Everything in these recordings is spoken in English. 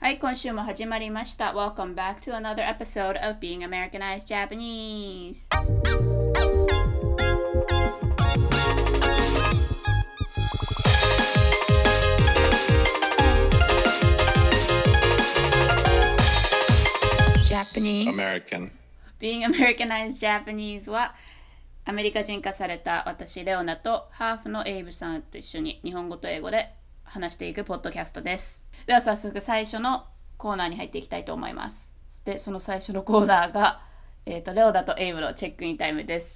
はい、今週も始まりました。Welcome back to another episode of Being Americanized Japanese. Japanese American. Being Americanized Japanese はアメリカ人化された私レオナとハーフのエイブさんと一緒に日本語と英語で話していくポッドキャストです。では早速最初のコーナーに入っていきたいと思います。で、その最初のコーナーが、レオナとエイブのチェックインタイムです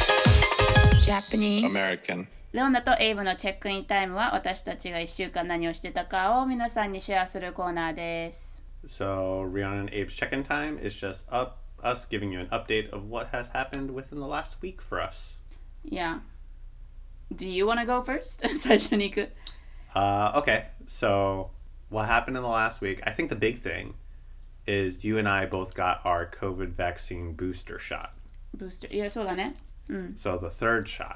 。Japanese American. レオナとエイブのチェックインタイムは私たちが1週間何をしてたかを皆さんにシェアするコーナーです。 So Rihanna and Abe's check-in time is just us giving you an update of what has happened within the last week for us. Yeah. Do you want to go first? 最初に行く。 Okay, so what happened in the last week? I think the big thing is you and I both got our COVID vaccine booster shot. Booster. いや、そうだね。 So the third shot.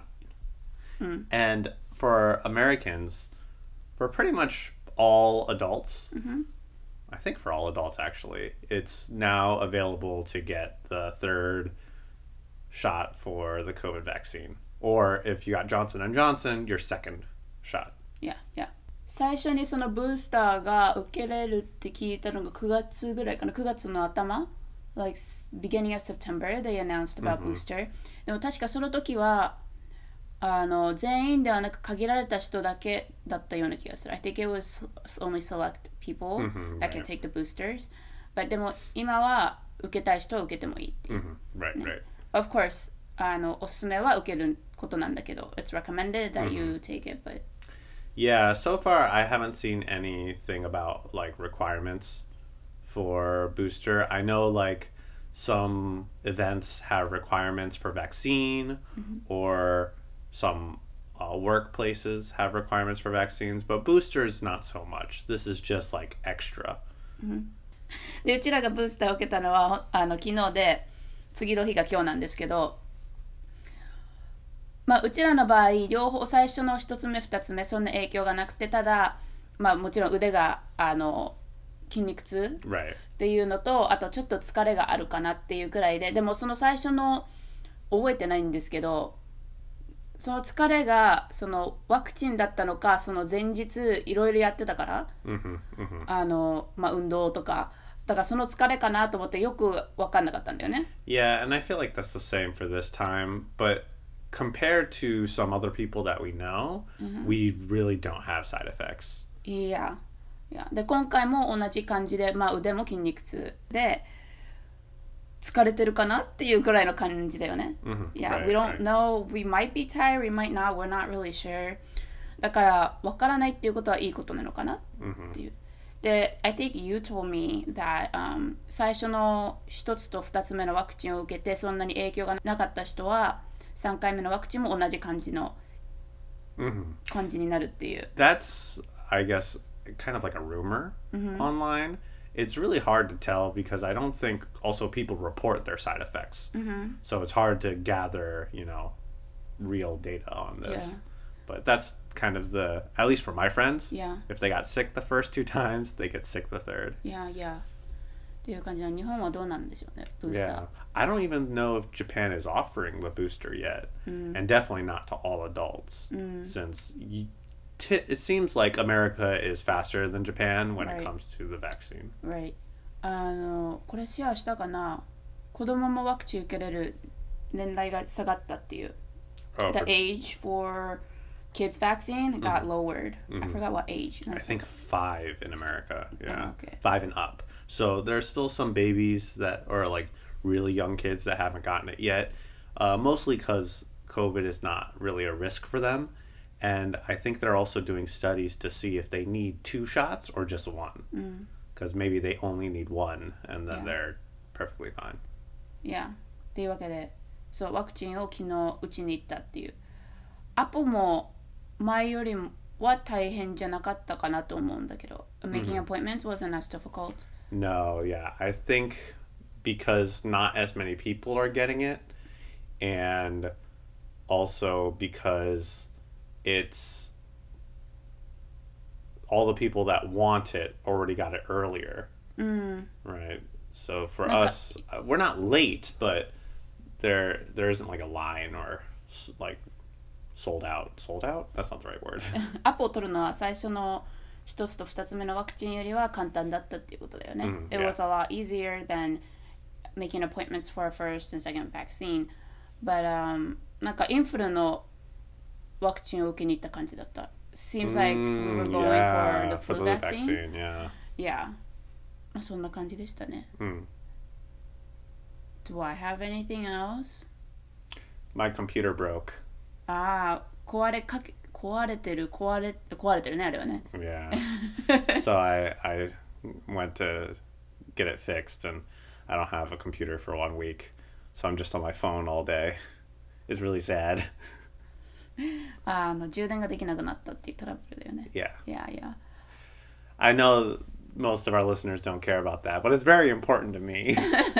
And for Americans, for pretty much all adults, I think for all adults actually, it's now available to get the third shot for the COVID vaccine. Or if you got Johnson & Johnson, your second shot. Yeah, yeah. 最初にそのブースターが受けれるって聞いたのが9月ぐらいかな。9月の頭 Like beginning of September they announced about booster. でも確かその時は全員ではなく限られた人だけだったような気がする。I think it was only select people that can take the boosters. But でも今は受けたい人は受けてもいいっていう。 Right, right. Of course, おすすめは受けることなんだけど、It's recommended that you take it, but Yeah, so far I haven't seen anything about like requirements for booster. I know like some events have requirements for vaccine or some workplaces have requirements for vaccines, but boosters not so much. This is just like extra. でうちらがブースターを受けたのは昨日で次の日が今日なんですけど、まあうちらの場合両方最初の1つ目2つ目そんな影響がなくて、ただまあもちろん腕が筋肉痛 Right. っていうのと、あとちょっと疲れがあるかなっていうくらいで、でもその最初の覚えてないんですけど、その疲れがそのワクチンだったのか、その前日いろいろやってたから、まあ運動とか、だからその疲れかなと思ってよく分かんなかったんだよね。 Yeah, and I feel like that's the same for this time, but compared to some other people that we know, we really don't have side effects. いや、で今回も同じ感じで、まあ腕も筋肉痛で疲れてるかなっていうくらいの感じだよね。Yeah, Right, we don't right. know. We might be tired, we might not. We're not really sure. だから分からないっていうことはいいことなのかなっていう。で、I think you told me that、最初の1つと2つ目のワクチンを受けてそんなに影響がなかった人は3回目のワクチンも同じ感じの感じになるっていう。 That's, I guess, kind of like a rumor online. It's really hard to tell because I don't think also people report their side effects. So it's hard to gather, real data on this. Yeah. But that's kind of at least for my friends, Yeah. if they got sick the first 2 times, they get sick the third. Yeah, yeah. っていう感じの日本はどうなんでしょうね、ブースター。 Yeah. I don't even know if Japan is offering the booster yet. And definitely not to all adults. Since it seems like America is faster than Japan when Right. it comes to the vaccine. Right. これシェアしたかな、子供もワクチン受けれる年代が下がったっていう。 Oh, The for- age for kids vaccine got lowered. I forgot what age. I think 5 in America. Yeah. Oh, okay. 5 and up. So there's still some babies that are like really young kids that haven't gotten it yet. Mostly because COVID is not really a risk for them. And I think they're also doing studies to see if they need 2 shots or just 1. Because maybe they only need 1 and then Yeah. they're perfectly fine. Yeah. っていうわけで、そうワクチンを昨日打ちに行ったっていう。アポも前よりは大変じゃなかったかなと思うんだけど、Making appointments wasn't as difficult. No, yeah. I think because not as many people are getting it, and also because it's all the people that want it already got it earlier. Right. So for us, we're not late, but there isn't like a line or like sold out. Sold out? That's not the right word. アポを取るのは最初の一つと二つ目のワクチンよりは簡単だったっていうことだよね。It was a lot easier than making appointments for a first and second vaccine. But なんかインフルのワクチンを受けに行った感じだった。Seems like we were going for the flu vaccine. Yeah. そんな感じでしたね。Do I have anything else? My computer broke. 壊れてるねあれはね。 Yeah. So I went to get it fixed, and I don't have a computer for 1 week, so I'm just on my phone all day. It's really sad. 充電ができなくなったっていうトラブルだよね。 Yeah. I know most of our listeners don't care about that, but it's very important to me.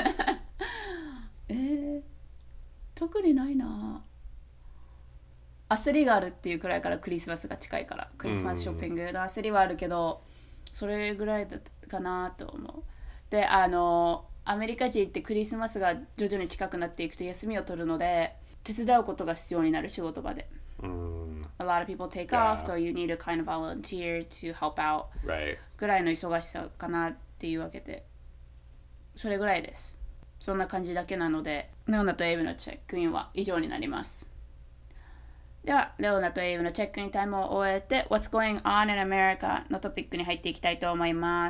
特にないな。焦りがあるっていうくらいからクリスマスが近いからクリスマスショッピングの焦りはあるけどそれぐらいだったかなと思う。でアメリカ人ってクリスマスが徐々に近くなっていくと休みを取るので手伝うことが必要になる仕事場で。A lot of people take off, so you need to kind of volunteer to help out. ぐらいの忙しさかなっていうわけでそれぐらいです。そんな感じだけなのでレオナとエイブのチェックインは以上になります。ではレオナとエイブのチェックインタイムを終えて What's going on in America のトピックに入っていきたいと思います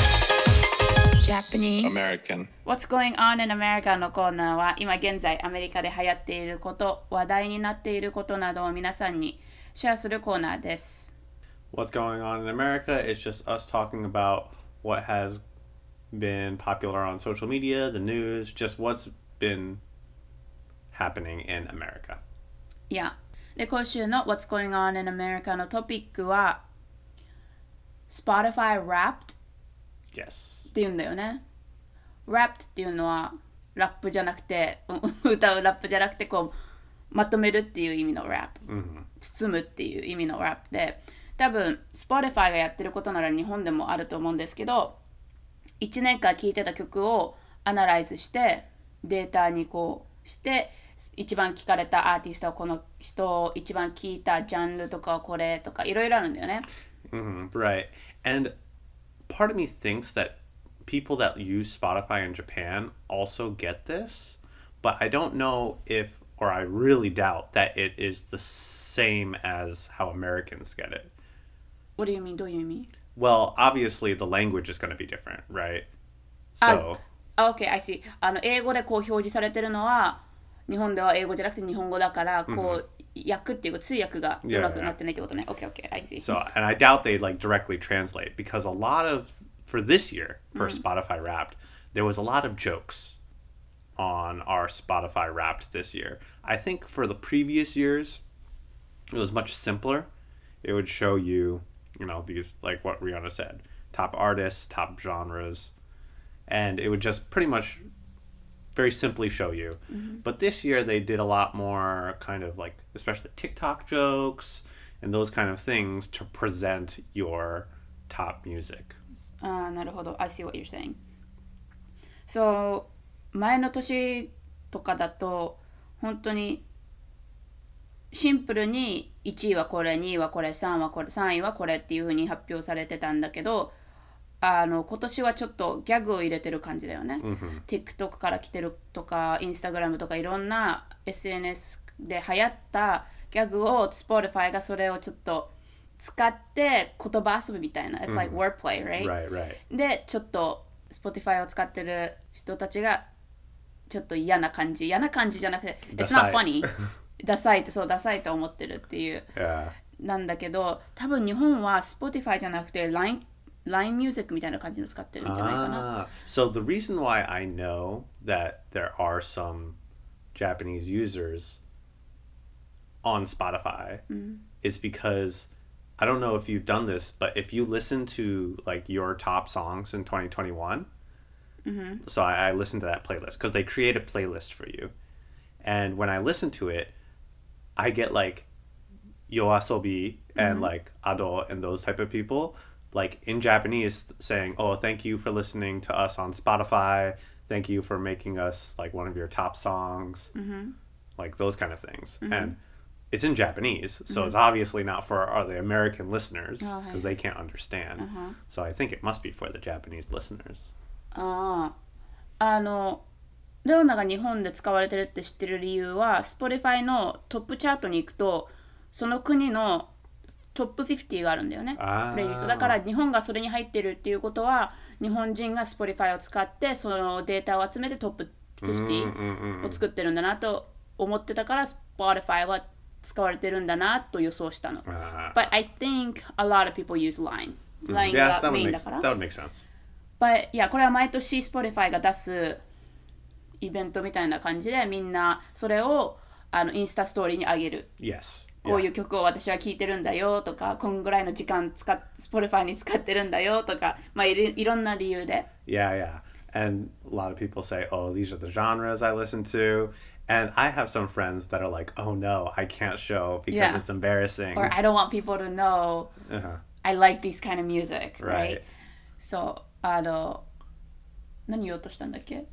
。Japanese American What's going on in America のコーナーは今現在アメリカで流行っていること話題になっていることなどを皆さんにシェアするコーナーです。 What's going on in America is just us talking about what has been popular on social media, the news, just what's been happening in America. Yeah. で今週の What's going on in America のトピックは Spotify Wrapped Yes. っていうんだよね。Wrapped っていうのはラップじゃなくて歌うラップじゃなくてこうまとめるっていう意味の Wrap、包むっていう意味の Wrap で多分 Spotify がやってることなら日本でもあると思うんですけど1年間聴いてた曲をアナライズしてデータにこうして一番聴かれたアーティストはこの人一番聴いたジャンルとかこれとかいろいろあるんだよね。 Right. And part of me thinks that people that use Spotify in Japan also get this, but I don't know if, or I really doubt that it is the same as how Americans get it. What do you mean? どういう意味? Well, obviously the language is going to be different, right? So. Okay, I see. 英語でこう表示されてるのは日本では英語じゃなくて日本語だからこう、訳っていうか通訳がうまくなってないってことね。Okay, I see. So, and I doubt they like directly translate because a lot of, for this year, for Spotify Wrapped, there was a lot of jokes on our Spotify Wrapped this year. I think for the previous years, it was much simpler. It would show you, you know, these, like what Rihanna said, top artists, top genres, and it would just pretty much very simply show you. But this year they did a lot more kind of like, especially TikTok jokes and those kind of things to present your top music. なるほど。I see what you're saying. So, 前の年とかだと本当にシンプルに1位はこれ、2位はこれ、3位はこれっていう風に発表されてたんだけど今年はちょっとギャグを入れてる感じだよね。TikTok から来てるとか Instagram とかいろんな SNS で流行ったギャグを Spotify がそれをちょっと使って言葉遊びみたいな It's like wordplay, right? でちょっと Spotify を使ってる人たちがちょっと嫌な感じじゃなくて It's not funny ダサいと思ってるっていうなんだけど多分日本は Spotify じゃなくて Line Music みたいな感じの使ってるんじゃないかな。 So the reason why I know that there are some Japanese users on Spotify is because I don't know if you've done this, but if you listen to like your top songs in 2021, so I listened to that playlist because they create a playlist for you. And when I listen to it, I get like Yoasobi and like Ado and those type of people, like in Japanese saying, oh, thank you for listening to us on Spotify. Thank you for making us like one of your top songs. Like those kind of things. And it's in Japanese, so it's obviously not for the American listeners because they can't understand. So I think it must be for the Japanese listeners. レオナが日本で使われてるって知ってる理由は Spotify のトップチャートに行くとその国のトップ50があるんだよね、プレイリストだから日本がそれに入ってるっていうことは日本人が Spotify を使ってそのデータを集めてトップ50を作ってるんだなと思ってたから Spotify は使われてるんだなと予想したの、But I think a lot of people use Line、Line がメインだから、 That would make sense. But yeah これは毎年 Spotify が出すイベントみたいな感じでみんなそれをインスタストーリーに上げる。 Yes. こういう曲を私は聴いてるんだよとか、こんぐらいの時間Spotify に使ってるんだよとか、まあいろんな理由で。 Yeah, yeah. And a lot of people say, oh, these are the genres I listen to. And I have some friends that are like, oh no, I can't show because it's embarrassing. Or I don't want people to know I like these kind of music, right? そう、何言おうとしたんだっけ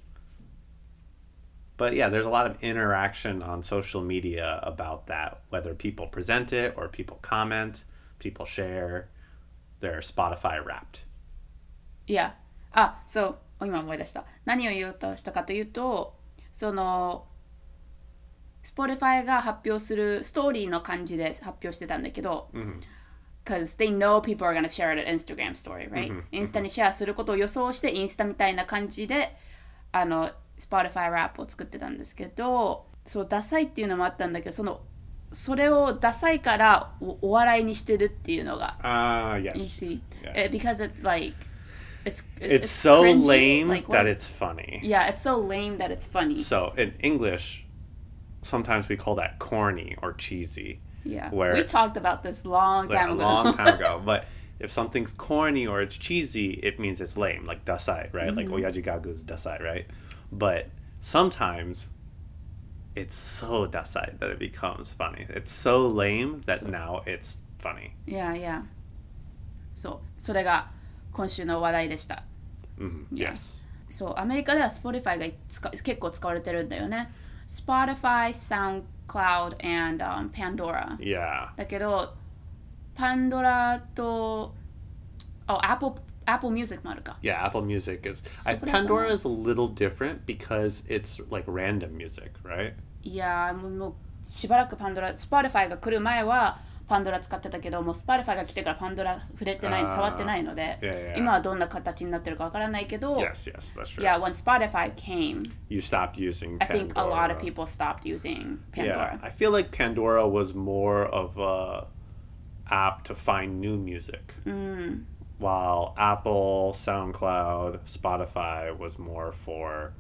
But yeah, there's a lot of interaction on social media about that, whether people present it or people comment, people share. They're Spotify wrapped. Yeah. そう、今思い出した。何を言おうとしたかというと、その、Spotify が発表するストーリーの感じで発表してたんだけど、because they know people are gonna share it at Instagram story, right? インスタにシェアすることを予想して、インスタみたいな感じで、Spotify ラップを作ってたんですけど、そうダサいっていうのもあったんだけど、それをダサいからお笑いにしてるっていうのが、 yes. You see, because it like it's so cringy, lame like, that it's funny. Yeah, it's so lame that it's funny. So in English, sometimes we call that corny or cheesy. Yeah, where, we talked about this long time ago. A long time ago, but if something's corny or it's cheesy, it means it's lame, like dasai, right? Like oyaji gagu is dasai, right? But sometimes it's so dasai that it becomes funny. It's so lame that now it's funny. Yeah, yeah. そう、それが今週の話題でした。 Yes. そう、アメリカでは Spotify が結構使われてるんだよね。Spotify, SoundCloud, and Pandora. Yeah. だけど、Pandora と、Apple Music もあるか。 Yeah, Apple Music is... Pandora is a little different because it's like random music, right? いやもうしばらくSpotify が来る前はPandora使ってたけど、もうSpotifyが来てからPandora触れてない、触ってないので、今はどんな形になってるかわからないけど、 Yes, that's true. Yeah, when Spotify came, you stopped using Pandora. I think a lot of people stopped using Pandora. Yeah, I feel like Pandora was more of a app to find new music. While Apple, SoundCloud, Spotify was more for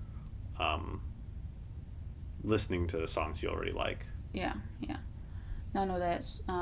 listening to the songs you already like. Yeah, yeah. なので、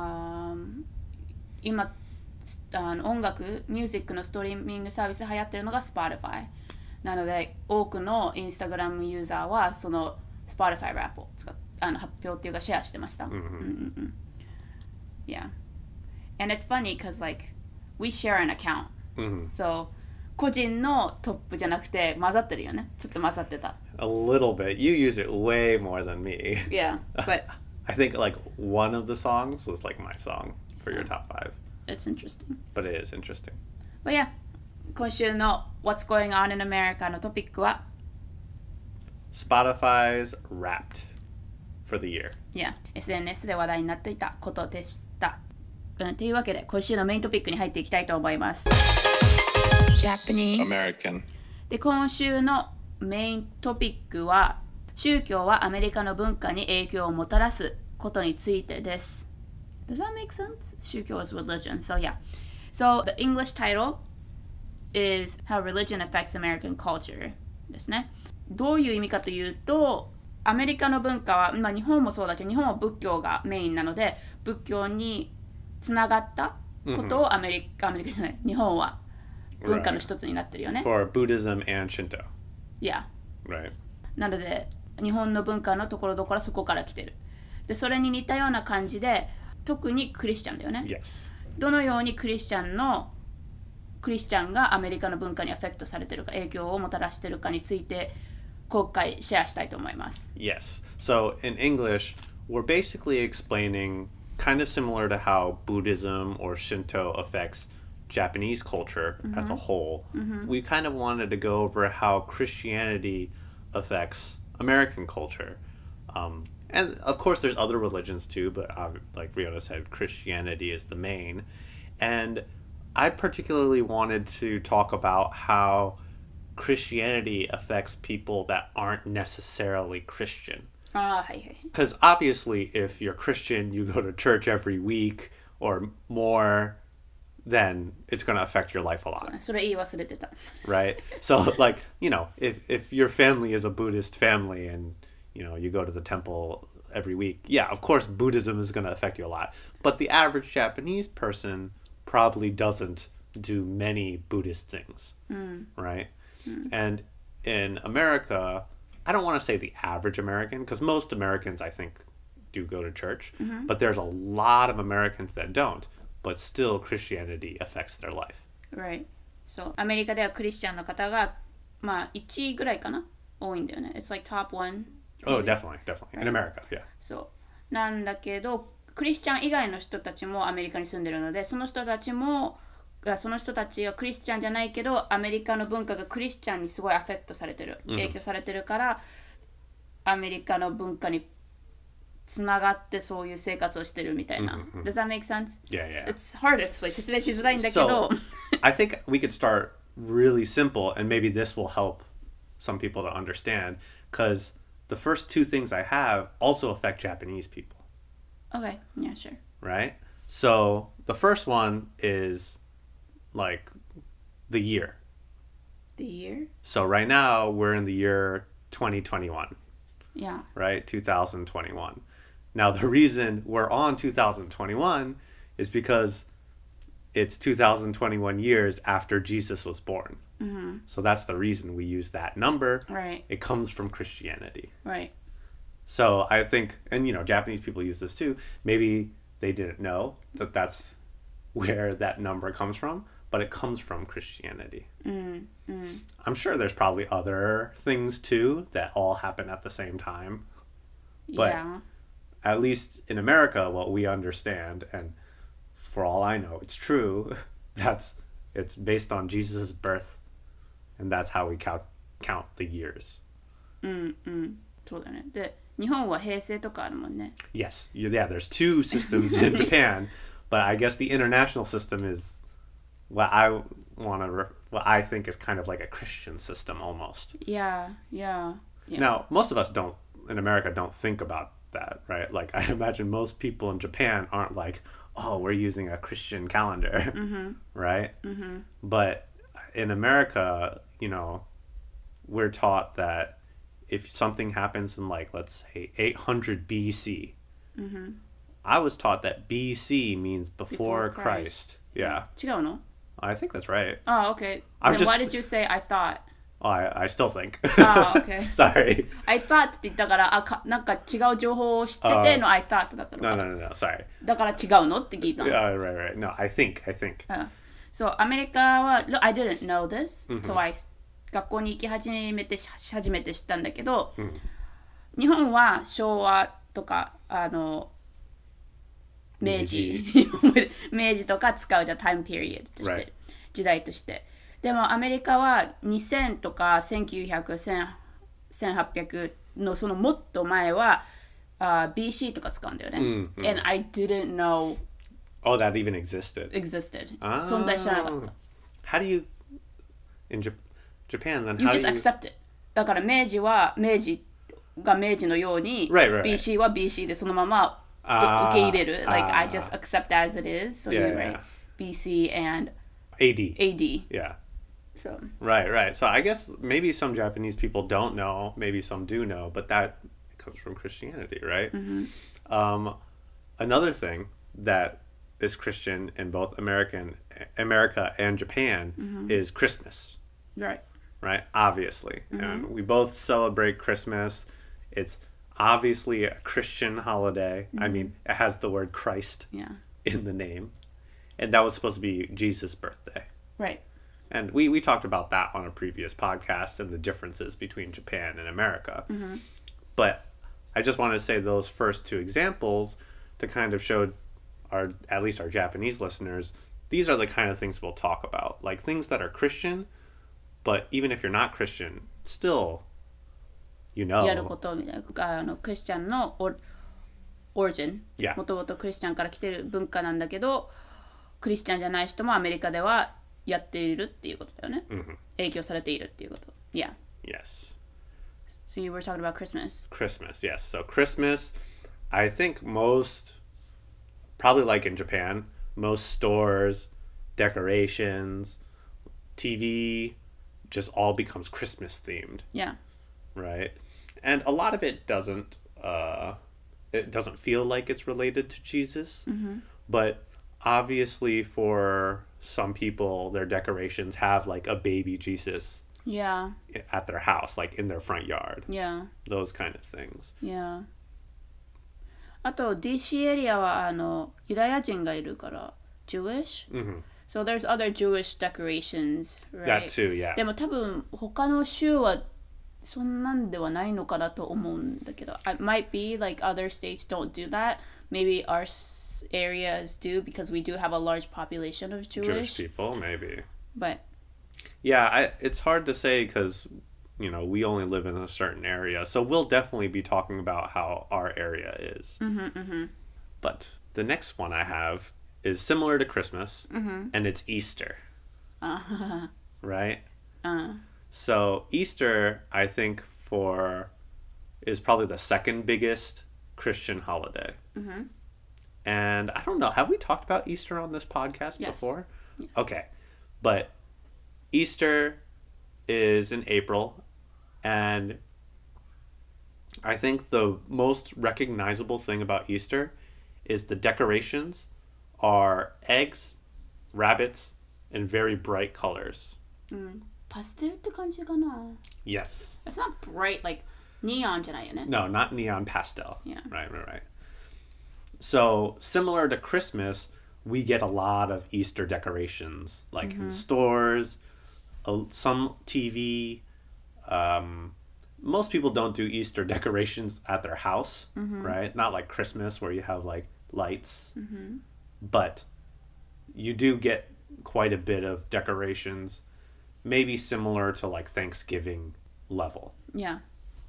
今音楽、ミュージックのストリーミングサービス流行ってるのが Spotify。なので、多くの Instagram ユーザーはその Spotify ラップを発表っていうかシェアしてました。Yeah. And it's funny because like we share an account. So 個人のトップじゃなくて混ざってるよね。ちょっと混ざってた。 A little bit. You use it way more than me. Yeah, but I think like one of the songs was like my song for your top 5. It's interesting. But it is interesting. But yeah, 今週の What's Going On in America のトピックは Spotify's Wrapped for the year. Yeah, SNS で話題になっていたことでした。というわけで今週のメイントピックに入っていきたいと思います。Japanese American. で今週のメイントピックは宗教はアメリカの文化に影響をもたらすことについてです。Does that make sense? 宗教 is religion. So yeah. So the English title is How Religion Affects American Culture ですね。どういう意味かというと、アメリカの文化は、まあ、日本もそうだけど、日本は仏教がメインなので、仏教につながったことをアメリカじゃない、日本は文化の一つになってるよね。 For Buddhism and Shinto. Yeah. Right. なので、日本の文化のところどころそこから来てる。で、それに似たような感じで、 特にクリスチャンだよね。 Yes. どのようにクリスチャンがアメリカの文化にアフェクトされてるか、影響をもたらしてるかについて今回シェアしたいと思います。 Yes. So in English, we're basically explaining kind of similar to how Buddhism or Shinto affects Japanese culture as a whole. We kind of wanted to go over how Christianity affects American culture. And of course, there's other religions too, but like Riona said, Christianity is the main. And I particularly wanted to talk about how Christianity affects people that aren't necessarily Christian. Because obviously, if you're Christian, you go to church every week or more, then it's going to affect your life a lot. それ言い忘れてた。 Right? So, like, if your family is a Buddhist family and, you go to the temple every week, yeah, of course, Buddhism is going to affect you a lot. But the average Japanese person probably doesn't do many Buddhist things, right? And in America, I don't want to say the average American, because most Americans, I think, do go to church, but there's a lot of Americans that don't, but still Christianity affects their life. Right. So, アメリカではクリスチャンの方が、1位ぐらいかな多いんだよね。It's like top one. Oh, definitely. In America, yeah. そう。なんだけど、クリスチャン以外の人たちもアメリカに住んでるので、その人たちはクリスチャンじゃないけど、アメリカの文化がクリスチャンにすごいアフェクトされてる、影響されてるから、アメリカの文化につながってそういう生活をしてるみたいな。Does that make sense? Yeah. It's hard to explain. 説明しづらいんだけど。 So, I think we could start really simple, and maybe this will help some people to understand, because the first two things I have also affect Japanese people. Okay, yeah, sure. Right? So, the first one is like the year. The year? So right now we're in the year 2021. Yeah. Right? 2021. Now the reason we're on 2021 is because it's 2021 years after Jesus was born. So that's the reason we use that number. Right. It comes from Christianity. Right. So I think, and Japanese people use this too, maybe they didn't know that that's where that number comes from, but it comes from Christianity. I'm sure there's probably other things too that all happen at the same time. But at least in America, what we understand, and for all I know, it's true, it's based on Jesus' birth, and that's how we count the years. そうだね。で、日本は平成とかあるもんね。 Yes. Yeah, there's two systems in Japan, but I guess the international system is what I think is kind of like a Christian system almost. Yeah. Now, most of us in America don't think about that, right? Like, I imagine most people in Japan aren't like, oh, we're using a Christian calendar, right? But in America, we're taught that if something happens in, like, let's say 800 BC, I was taught that BC means before Christ. Yeah. 違うの? I think that's right. Oh, okay. Then why did you say I thought? Oh, I still think. Oh, okay. Sorry. I thought って言ったから、なんか違う情報を知ってての I thought だったのかな。 No, sorry. だから違うのって聞いたの。 Yeah, right. No, I think. So, アメリカは、I didn't know this. So, 学校に行き初めて知ったんだけど、日本は昭和とか、明治とか使うじゃん、タイムピリオドとして、時代として。でもアメリカは2000とか1900、1800のそのもっと前は、BC とか使うんだよね。And I didn't know. Oh, that even existed. 存在知らなかった。 How do you in Japan then? You just accept it. だから明治が明治のように、BC は BC でそのまま受け入れる。Like I just accept as it is. So you write BC and AD. Yeah. So. Right. So I guess maybe some Japanese people don't know, maybe some do know, but that comes from Christianity, right? Another thing that is Christian in both America and Japan is Christmas. Right. Obviously. And we both celebrate Christmas. obviously a Christian holiday. I mean, it has the word Christ in the name. And that was supposed to be Jesus' birthday. Right. And we talked about that on a previous podcast and the differences between Japan and America. But I just wanted to say those first two examples to kind of show at least our Japanese listeners, these are the kind of things we'll talk about. Like things that are Christian, but even if you're not Christian, still, やることみたいなクリスチャンのオリジン、もともとクリスチャンから来てる文化なんだけど、クリスチャンじゃない人もアメリカではやっているっていうことだよね。影響されているっていうこと。Yeah. Yes. So you were talking about Christmas. Christmas, yes. So Christmas, I think probably like in Japan, most stores, decorations, TV, just all becomes Christmas themed. Yeah. Right? And a lot of it doesn't feel like it's related to Jesus. But obviously for some people, their decorations have like a baby Jesus at their house, like in their front yard. Yeah. Those kind of things. Yeah. あと DC エリアはユダヤ人がいるから Jewish? So there's other Jewish decorations, right? That too, yeah. でも多分他の州はそんなんではないのかなと思うんだけど It might be like other states don't do that. Maybe our areas do because we do have a large population of Jewish people, maybe. But yeah, it's hard to say because we only live in a certain area, so we'll definitely be talking about how our area is. But the next one I have is similar to Christmas, and it's Easter. Right? So Easter, I think, is probably the second biggest Christian holiday. And I don't know, have we talked about Easter on this podcast before? Yes. Okay. But Easter is in April, and I think the most recognizable thing about Easter is the decorations are eggs, rabbits, and very bright colors. パステルって感じかな Yes. It's not bright like neon じゃないよね No, not neon pastel. Yeah. Right. So, similar to Christmas, we get a lot of Easter decorations, like in stores, some TV. Most people don't do Easter decorations at their house, right? Not like Christmas where you have like lights. But you do get quite a bit of decorations, maybe similar to like Thanksgiving level. Yeah.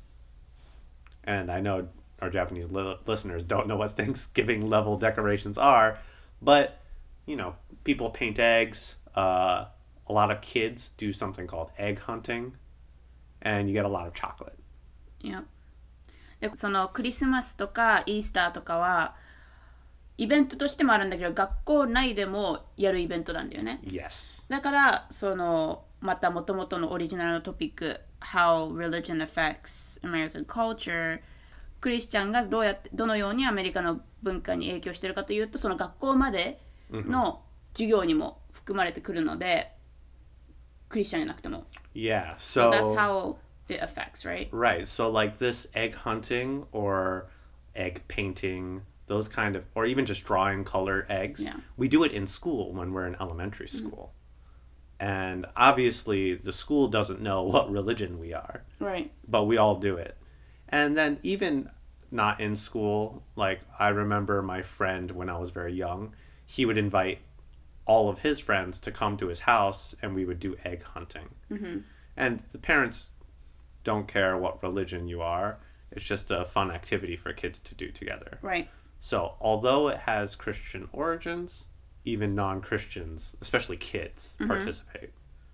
And I know our Japanese listeners don't know what Thanksgiving level decorations are, but people paint eggs. A lot of kids do something called egg hunting, and you get a lot of chocolate. Yeah. でそのクリスマスとかイースターとかはイベントとしてもあるんだけど学校内でもやるイベントなんだよね。 Yes. だからまた元々のオリジナルのトピック How religion affects American culture クリスチャンがどのようにアメリカの文化に影響しているかというとその学校までの授業にも含まれてくるので、クリスチャンじゃなくても。 Yeah, so that's how it affects, right? Right. So like this egg hunting or egg painting, those kind of, or even just drawing colored eggs, we do it in school when we're in elementary school. And obviously the school doesn't know what religion we are. Right. But we all do it. And then even not in school, like I remember my friend when I was very young, he would invite all of his friends to come to his house and we would do egg hunting. And the parents don't care what religion you are. It's just a fun activity for kids to do together. Right. So although it has Christian origins, even non-Christians, especially kids, participate.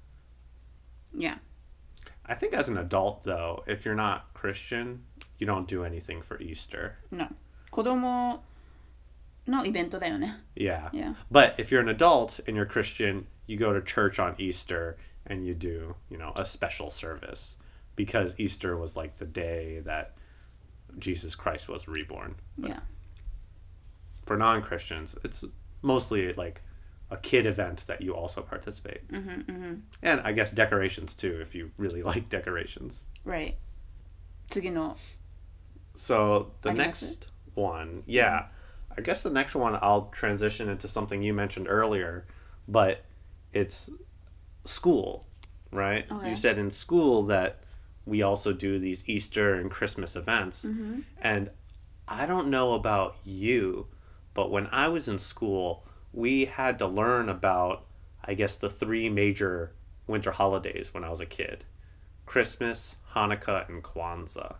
Yeah. I think as an adult, though, if you're not Christian, you don't do anything for Easter. No. 子供のイベントだよね。 Yeah. Yeah. But if you're an adult and you're Christian, you go to church on Easter and you do, a special service because Easter was like the day that Jesus Christ was reborn. But yeah. For non-Christians, it's mostly like a kid event that you also participate. And I guess decorations too, if you really like decorations. Right. 次の So the あります？ next one, yeah, I guess the next one I'll transition into something you mentioned earlier, but it's school, right? Okay. You said in school that we also do these Easter and Christmas events. And I don't know about you, but when I was in school, we had to learn about, I guess, the three major winter holidays when I was a kid: Christmas, Hanukkah, and Kwanzaa.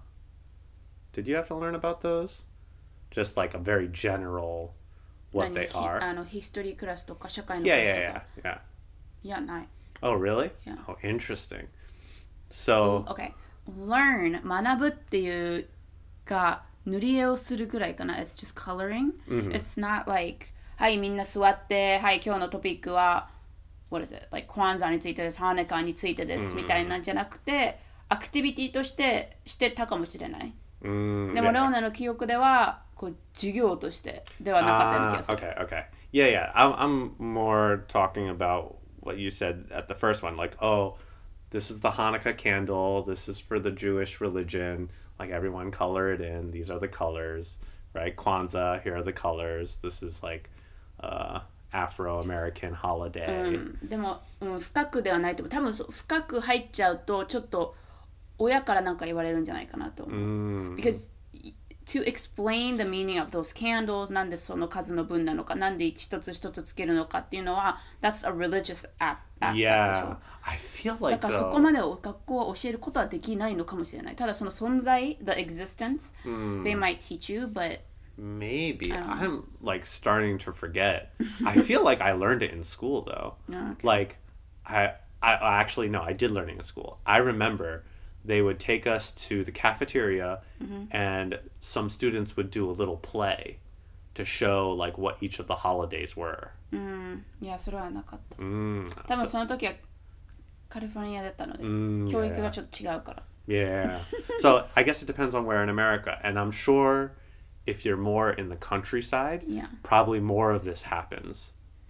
Did you have to learn about those? Just like a very general what they are. ヒストリークラスとか社会の Yeah, クラスと yeah, か。 yeah, yeah. いや、ない。 Oh, really? Yeah. Oh, interesting. So, Okay. Learn 学ぶっていうか塗り絵をするぐらいかな。It's just coloring. It's not like はいみんな座ってはい今日のトピックは what is it? Like クワンザについてです、ハネカについてですみたいなんじゃなくてアクティビティとしてしてたかもしれない。でも yeah. レオナの記憶ではこう授業としてではなかったような気がする。 Okay, okay. Yeah, yeah. I'm more talking about what you said at the first one. Like, oh, this is the Hanukkah candle. This is for the Jewish religion. Like, everyone color it in. These are the colors, right? Kwanzaa, here are the colors. This is like Afro-American holiday. でも、深くではないと思う。多分深く入っちゃうとちょっと親からなんか言われるんじゃないかなと思う。Because to explain the meaning of those candles なんでその数の分なのかなんで一つ一つつけるのかっていうのは that's a religious aspect でしょ。 Yeah, I feel だ like からそこまでを学校は教えることはできないのかもしれない。ただその存在 the existence they might teach you but maybe. I'm like starting to forget. I feel like I learned it in school though. Okay. Like I actually no, I did learn it in school. I remember they would take us to the cafeteria and some students would do a little play to show like what each of the holidays were. いやそれはなかった。 Mm. 多分その時はカリフォルニアだったので、教育がちょっと違うから。 Yeah. So I guess it depends on where in America. And I'm sure if you're more in the countryside, Yeah. probably more of this happens.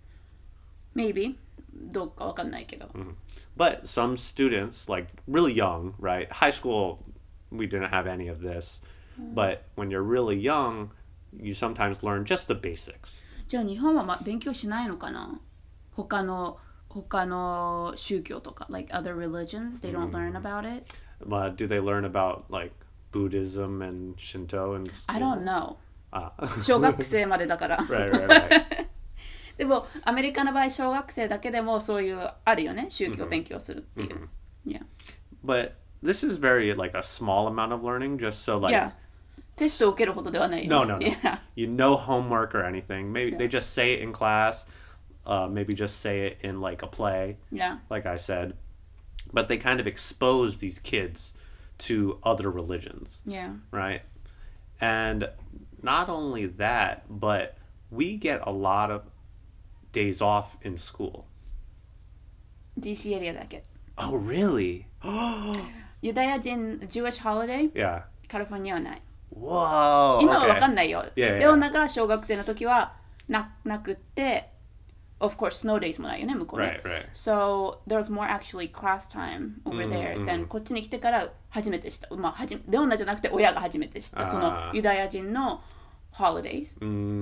Maybe どうかわかんないけど。 But some students, like really young, right? High school, we didn't have any of this. But when you're really young, you sometimes learn just the basics. じゃあ日本は勉強しないのかな？他の宗教とか like other religions they don't learn about it. Do they learn about like Buddhism and Shinto and school? I don't know. Ah. 小学生までだから。 Right, right, right. でもアメリカの場合小学生だけでもそういうあるよね宗教勉強するっていう。Yeah. But this is very like a small amount of learning, just so like Yeah. テストを受けるほどではないよ。 no, no, no. Yeah. You know homework or anything. Maybe they just say it in class. Maybe just say it in like a play, Yeah. like I said. But they kind of expose these kids to other religions, Yeah. right? And not only that, but we get a lot of days off in school. DC エリアだけ。 Oh, really? ユダヤ人 Jewish holiday Yeah. カリフォルニアはない。 Whoa. 今はわか Okay. んないよ。 Yeah, yeah. レオナが小学生の時はなくって、of course snow days もないよね向こうね。 Right, right. So there was more actually class time over there than こっちに来てから初めてした。まあレオナじゃなくて親が初めて知ったそのユダヤ人の holidays。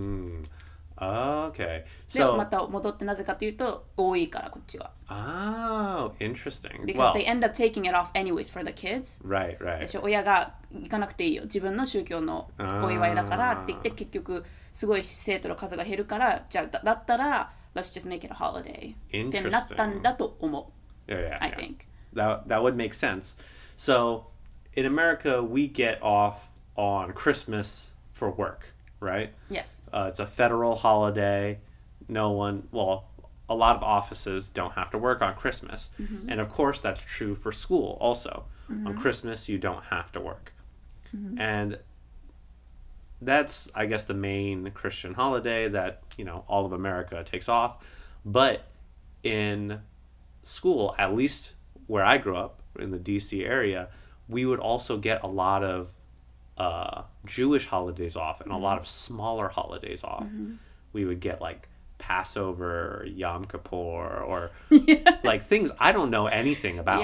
Okay. でま So, た戻ってなぜかというと多いからこっちは。 oh, interesting. Because Well, they end up taking it off anyways for the kids. right, で right. しょ親が行かなくていいよ自分の宗教のお祝いだからって言って結局すごい生徒の数が減るからじゃあだったら let's just make it a holiday ってなったんだと思う。 Yeah, yeah, I yeah. think. That would make sense. So, in America, we get off on Christmas for work, right? Yes. It's a federal holiday. No one, well, a lot of offices don't have to work on Christmas. And of course, that's true for school also. On Christmas, you don't have to work. And that's, I guess, the main Christian holiday that, all of America takes off. But in school, at least where I grew up in the DC area, we would also get a lot of Jewish holidays off and a lot of smaller holidays off. We would get like Passover or Yom Kippur or like things I don't know anything about. Yeah.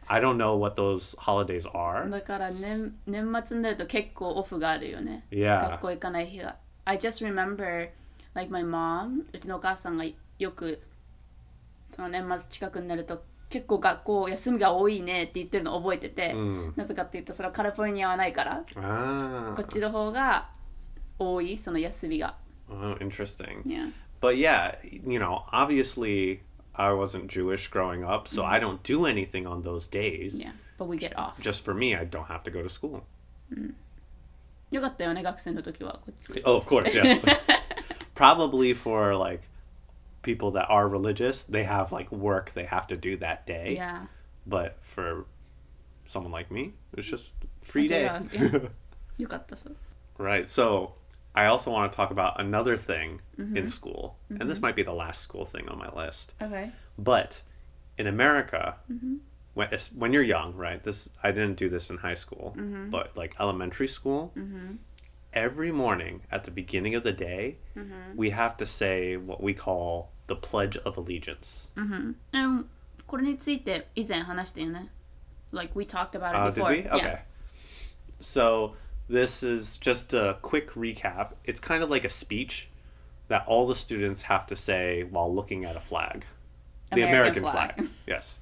I don't know what those holidays are. だから年末になると結構オフがあるよね。 Yeah. 学校行かない日が。I just remember, like my mom, うちのお母さんがよくその年末近くになると結構学校休みが多いねって言ってるのを覚えてて、なぜかっていうとそれはカリフォルニアはないから、こっちの方が多いその休みが。 Oh, interesting. Yeah. But yeah, you know, obviously I wasn't Jewish growing up, so I don't do anything on those days. Yeah, but we get off. Just for me, I don't have to go to school. よかったよね、学生の時はこっち。 Oh, of course, yes. Probably for like people that are religious, they have like work they have to do that day. Yeah. But for someone like me, it's just free day. Yeah. よかったそう。 Right. So I also want to talk about another thing in school. And this might be the last school thing on my list. Okay. But in America, when you're young, right? I didn't do this in high school, but like elementary school, every morning at the beginning of the day, we have to say what we call the Pledge of Allegiance. これについて以前話したよね。Like we talked about it Did before. we? Okay. Yeah. So this is just a quick recap. It's kind of like a speech that all the students have to say while looking at a flag. The American flag. Yes.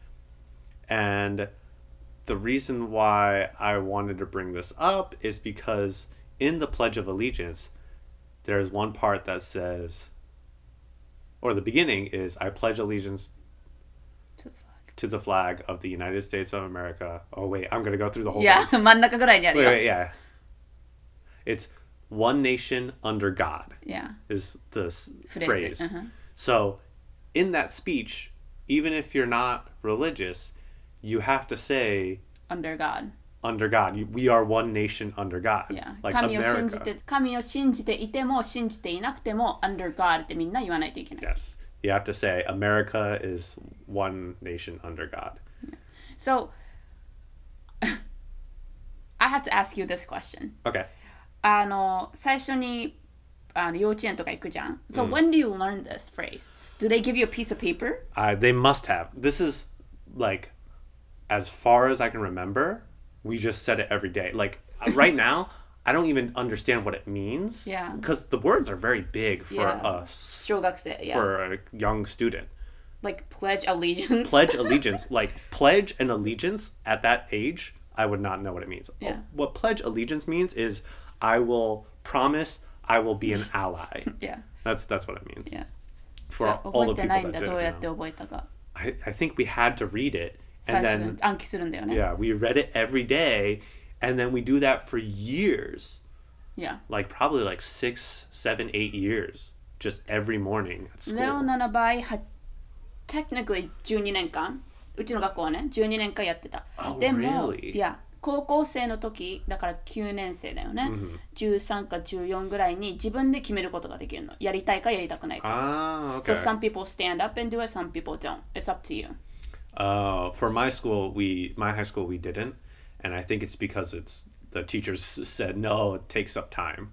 And the reason why I wanted to bring this up is because in the Pledge of Allegiance, there's one part that says, or the beginning is, I pledge allegiance to the flag of the United States of America. Oh, wait, I'm going to go through the whole Yeah, thing. 真ん中ぐらいにあるよ。 Wait, yeah. It's one nation under God. Yeah. Is the Phrase. phrase. So in that speech, even if you're not religious, you have to say Under God. under God. We are one nation under God. Yeah. Like 神を信 America. じて、神を信じていても信じていなくても Under God ってみんな言わないといけない。 Yes. You have to say America is one nation under God. So, I have to ask you this question. Okay. 最初に幼稚園とか行くじゃん。So when do you learn this phrase? Do they give you a piece of paper? They must have. This is like, as far as I can remember, we just said it every day. Like right now, I don't even understand what it means. Yeah. Because the words are very big for Yeah. 小学生、yeah. for a young student. Like pledge allegiance. Pledge allegiance. Like pledge and allegiance at that age, I would not know what it means. Yeah. What pledge allegiance means is I will promise I will be an ally. Yeah. That's what it means. Yeah. For じゃあ all 覚 the えてな people いん that だ。 didn't どうやって know. 覚えたか。 I think we had to read it 最 and 初に then 暗記するんだよね。 yeah, we read it every day and then we do that for years. Yeah. Like probably like 6, 7, 8 years. Just every morning at school. レオナの場合は technically 12年間うちの学校はね12年間やってた。 Oh, でも、 really? いや高校生の時だから9年生だよね、13か14ぐらいに自分で決めることができるの。やりたいかやりたくないか。 Ah, okay. So some people stand up and do it, some people don't. It's up to you. For my school, my high school, we didn't. And I think it's because the teachers said, no, it takes up time.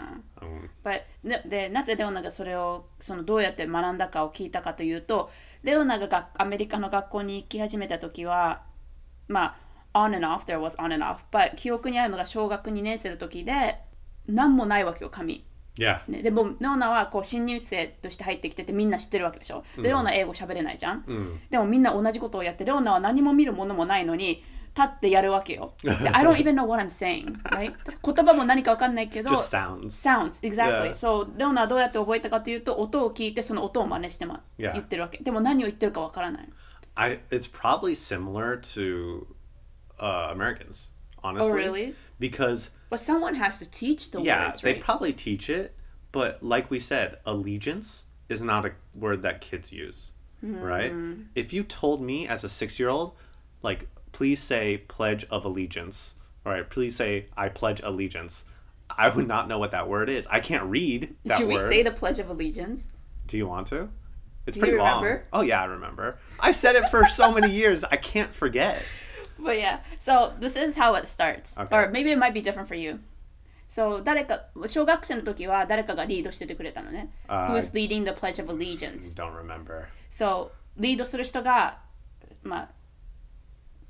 But でなぜレオナがそれをどうやって学んだかを聞いたかというと、レオナがアメリカの学校に行き始めた時はまあ on and off, there was on and off, but 記憶にあるのが小学2年生の時で何もないわけよ紙。 Yeah. ね、でもレオナはこう新入生として入ってきててみんな知ってるわけでしょ。でレオナ英語喋れないじゃん、でもみんな同じことをやってレオナは何も見るものもないのに立ってやるわけよ。で I don't even know what I'm saying, right? 言葉も何か分かんないけど Just sounds. Sounds, exactly. Yeah. So レオナはどうやって覚えたかというと音を聞いてその音を真似して、 Yeah. 言ってるわけ。でも何を言ってるか分からない。 It's probably similar to Americans, honestly. Oh, really? Because But someone has to teach the yeah, words, they right? probably teach it, but like we said, allegiance is not a word that kids use, right? If you told me as a 6-year-old, like, please say pledge of allegiance, right? Please say I pledge allegiance. I would not know what that word is. I can't read that Should we word. say the Pledge of Allegiance? Do you want to? It's Do pretty you long. remember? Oh yeah, I remember. I said it for so many years. I can't forget. But yeah, so this is how it starts. Okay. Or maybe it might be different for you. So 誰か小学生の時は誰かがリードしててくれたのね。Who's leading the Pledge of Allegiance? Don't remember. So リードする人がまあ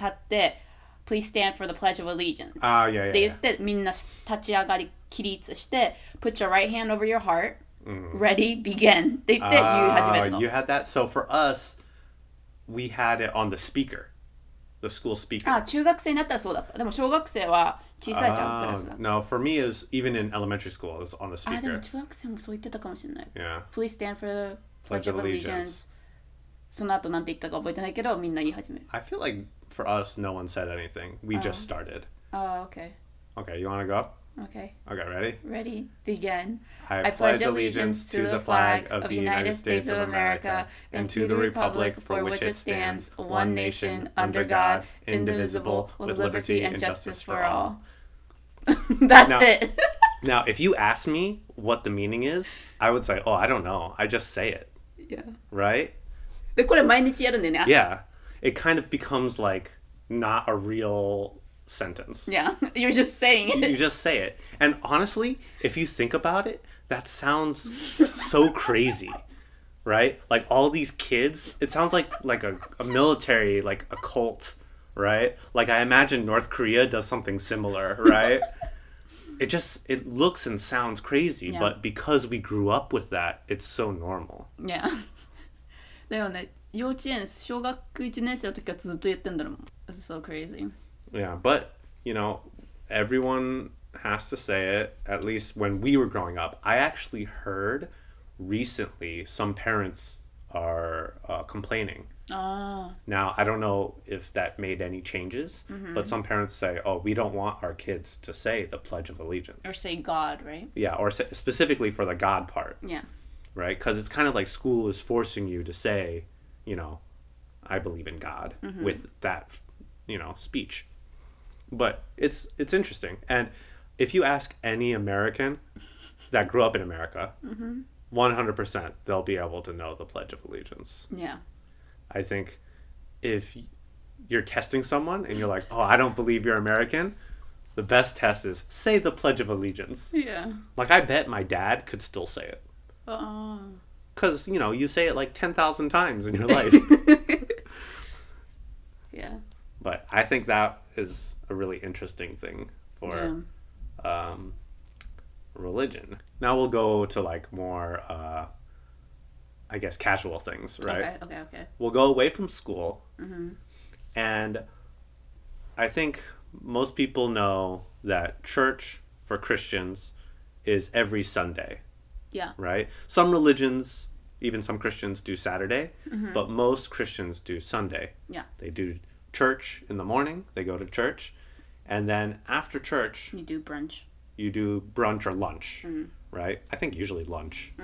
立って、Please stand for the pledge of allegiance. ああ、いやいや。 って言って、みんな立ち上がり、起立して、Put your right hand over your heart. Ready, begin. って言って言い始めるの。 You had that? So for us, we had it on the speaker. The school speaker. あ、中学生になったらそうだった。でも小学生は小さいじゃん、クラスだ。 No, for me, it was even in elementary school, it was on the あ、でも speaker. 中学生もそう言ってたかもしれない。 Yeah. Please stand for the pledge of allegiance. その後なんて言ったか覚えてないけど、みんな言い始める。 I feel like for us, no one said anything. We just started. Okay. Okay, you want to go? Okay. Okay, ready? Ready, begin. I pledge allegiance to the flag of the United States of America and to the republic for which it stands, one nation, under God, indivisible, with liberty and justice for all. That's Now- it. Now, if you ask me what the meaning is, I would say, oh, I don't know. I just say it, Yeah. right? で、これ毎日やるんだよね。 Yeah. It kind of becomes like not a real sentence. Yeah. You're just saying You it. just say it. And honestly, if you think about it, that sounds so crazy, right? Like all these kids, it sounds like a military, like a cult, right? Like I imagine North Korea does something similar, right? It looks and sounds crazy, Yeah. but because we grew up with that, it's so normal. Yeah. だよね。幼稚園、小学1年生の時からずっと言ってんだろうもん。That's so crazy. Yeah, but you know, everyone has to say it. At least when we were growing up, I actually heard recently some parents are complaining. あ Now, I don't know if that made any changes, but some parents say, "Oh, we don't want our kids to say the Pledge of Allegiance." Or say God, right? Yeah, or specifically for the God part, Yeah. right? Because it's kind of like school is forcing you to say, you know, I believe in God with that, you know, speech. But it's interesting. And if you ask any American that grew up in America, 100% they'll be able to know the Pledge of Allegiance. Yeah. I think if you're testing someone and you're like, oh, I don't believe you're American, the best test is say the Pledge of Allegiance. Yeah. Like, I bet my dad could still say it. Because, you know, you say it like 10,000 times in your life. Yeah. But I think that is a really interesting thing for religion. Now we'll go to like more, I guess, casual things, right? Okay. We'll go away from school. And I think most people know that church for Christians is every Sunday, Yeah. right? Some religions, even some Christians, do Saturday, but most Christians do Sunday. Yeah. They do church in the morning, they go to church, and then after church, You do brunch. you do brunch or lunch, right? I think usually lunch.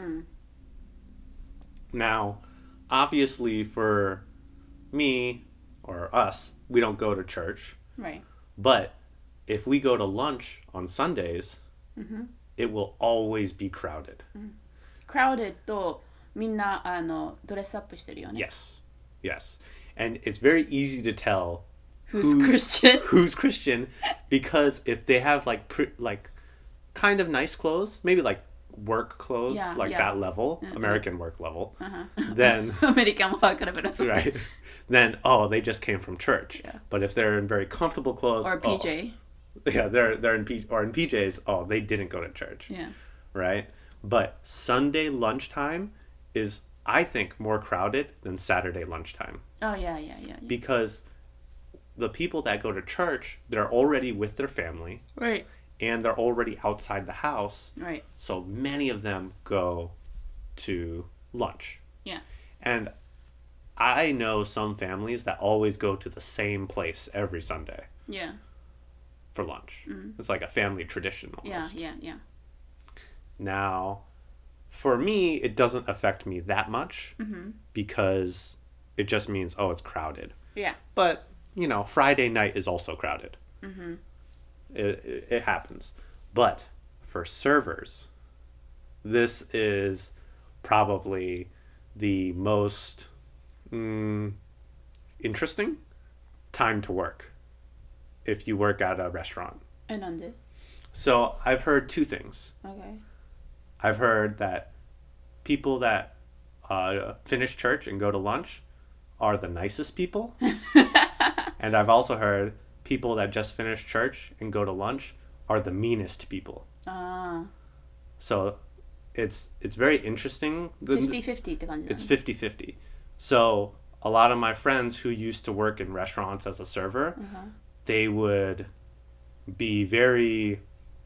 Now, obviously for me or us, we don't go to church, Right. but if we go to lunch on Sundays, it will always be crowded. Crowded とみんなドレスアップしてるよね。 Yes. And it's very easy to tell Who's Christian? who's Christian because if they have like kind of nice clothes, maybe like work clothes, Yeah, like yeah. that level, American work level, then アメリカンワークレベル。 right, then they just came from church. Yeah. But if they're in very comfortable clothes, Or PJ. yeah, they're in PJs. Oh, they didn't go to church. Yeah. Right. But Sunday lunchtime is, I think, more crowded than Saturday lunchtime. Oh, yeah. Because the people that go to church, they're already with their family Right. and they're already outside the house. Right. So many of them go to lunch. Yeah. And I know some families that always go to the same place every Sunday Yeah. for lunch. It's like a family tradition almost. Yeah. Now, for me, it doesn't affect me that much because it just means, it's crowded. Yeah. But, you know, Friday night is also crowded. It happens. But for servers, this is probably the most interesting time to work if you work at a restaurant. え、なんで？ So I've heard two things. Okay. I've heard that people that finish church and go to lunch are the nicest people. And I've also heard people that just finish church and go to lunch are the meanest people. あ So it's very interesting. あ、50-50って感じだね。 It's 50-50. So a lot of my friends who used to work in restaurants as a server, they would be very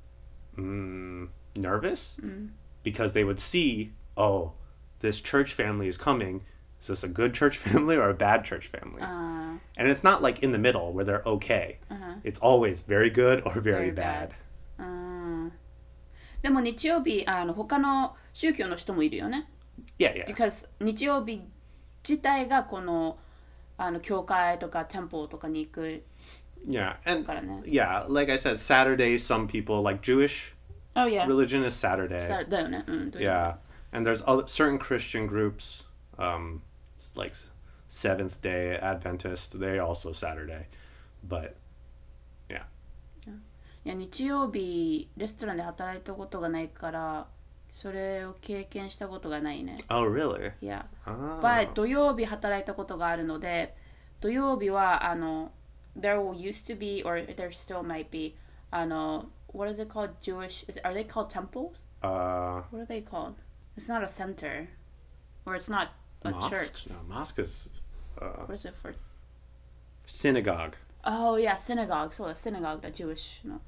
nervous because they would see, oh, this church family is coming. Is this a good church family or a bad church family? あ And it's not like in the middle where they're okay. It's always very good or very, Very bad. あ、うん。でも日曜日、他の宗教の人もいるよね。 Yeah, yeah. Because 日曜日自体がこの、教会とか店舗とかに行く Yeah. And からね。 yeah, like I said, Saturday, some people like Jewish Oh yeah. religion is Saturday. だよね。うん。 Yeah. And there's other, certain Christian groups, like Seventh Day Adventist, they also Saturday. But yeah. いや日曜日レストランで働いたことがないからそれを経験したことがないね。 Oh, really? いや、 Oh. But 土曜日働いたことがあるので、土曜日はthere used to be or there still might be what is it called? Are they called temples? What are they called? It's not a center, or it's not a Mosque? church. No, mosque is What is it for? synagogue. Oh yeah, synagogue. そうだ、synagogue だ、Jewish の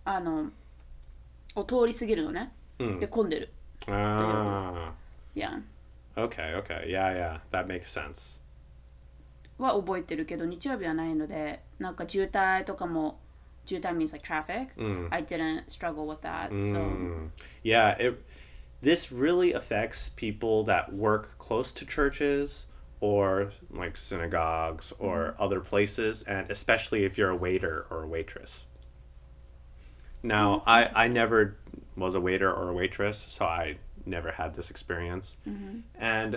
を通り過ぎるのね。で混んでる。 Ah. Yeah. Okay, okay. Yeah, yeah. That makes sense. は覚えてるけど日曜日はないので、なんか渋滞とかも渋滞 means like traffic. I didn't struggle with that. So Yeah, this really affects people that work close to churches or like synagogues or other places, and especially if you're a waiter or a waitress. Now, I never was a waiter or a waitress, so I never had this experience. And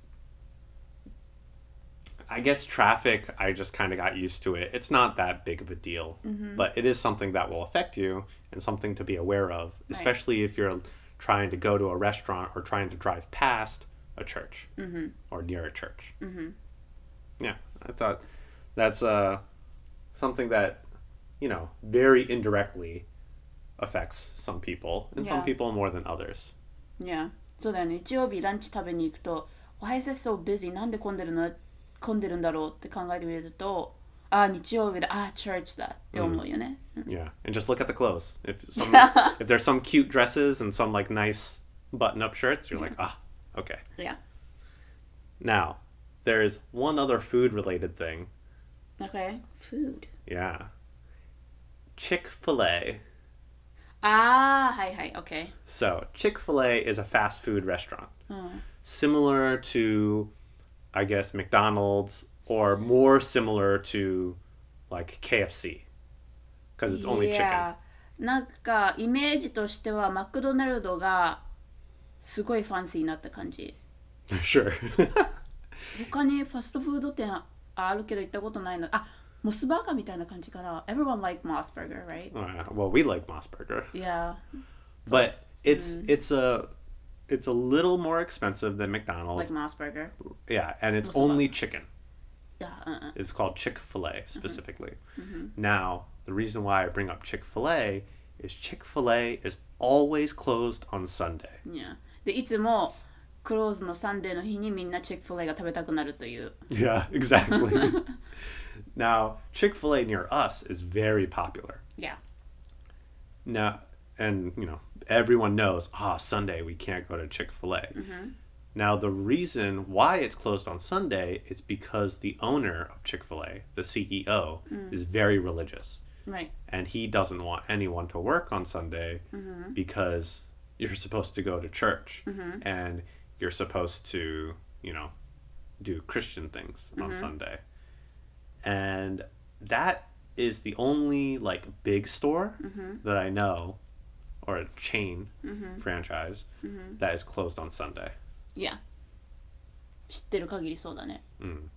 I guess traffic, I just kind of got used to it. It's not that big of a deal, but it is something that will affect you and something to be aware of, especially if you're trying to go to a restaurant or trying to drive past a church or near a church. Yeah, I thought that's something that, very indirectly affects some people and some Yeah. people more than others. yeah. そうだよね。日曜日ランチ食べに行くと Why is it so busy? なんで混んでるんだろうって考えてみると日曜日だchurch だって思うよね。 Yeah, and just look at the clothes. If there's some cute dresses and some like nice button-up shirts, you're like, okay. Yeah. Now, there's one other food-related thing. Okay. Food. Yeah. Chick-fil-A. はいはい。Okay. So, Chick-fil-A is a fast food restaurant. Similar to, I guess, McDonald's, or more similar to, like, KFC. Because it's only chicken. Yeah. なんかイメージとしてはマクドナルドがすごいファンシーになった感じ。 Sure. 他にファストフード店あるけど行ったことないの。モスバーガーみたいな感じかな。Everyone like Moss Burger, right? Well, we like Moss Burger. Yeah. But it's a little more expensive than McDonald's. Like Moss Burger. Yeah, and it's Moss only Burger. chicken. Yeah. It's called Chick-fil-A specifically. Now, the reason why I bring up Chick-fil-A is Chick-fil-A is always closed on Sunday. Yeah. でいつもクローズのサンデーの日にみんなチェックフィレが食べたくなるという。 Yeah, exactly. Now, Chick-fil-A near us is very popular. Yeah. Now, and everyone knows, Sunday we can't go to Chick-fil-A. Now, the reason why it's closed on Sunday is because the owner of Chick-fil-A, the CEO, is very religious. Right. And he doesn't want anyone to work on Sunday because you're supposed to go to church and you're supposed to, do Christian things on Sunday. And that is the only like big store that I know, or a chain franchise that is closed on Sunday. Yeah. 知ってる限りそうだね。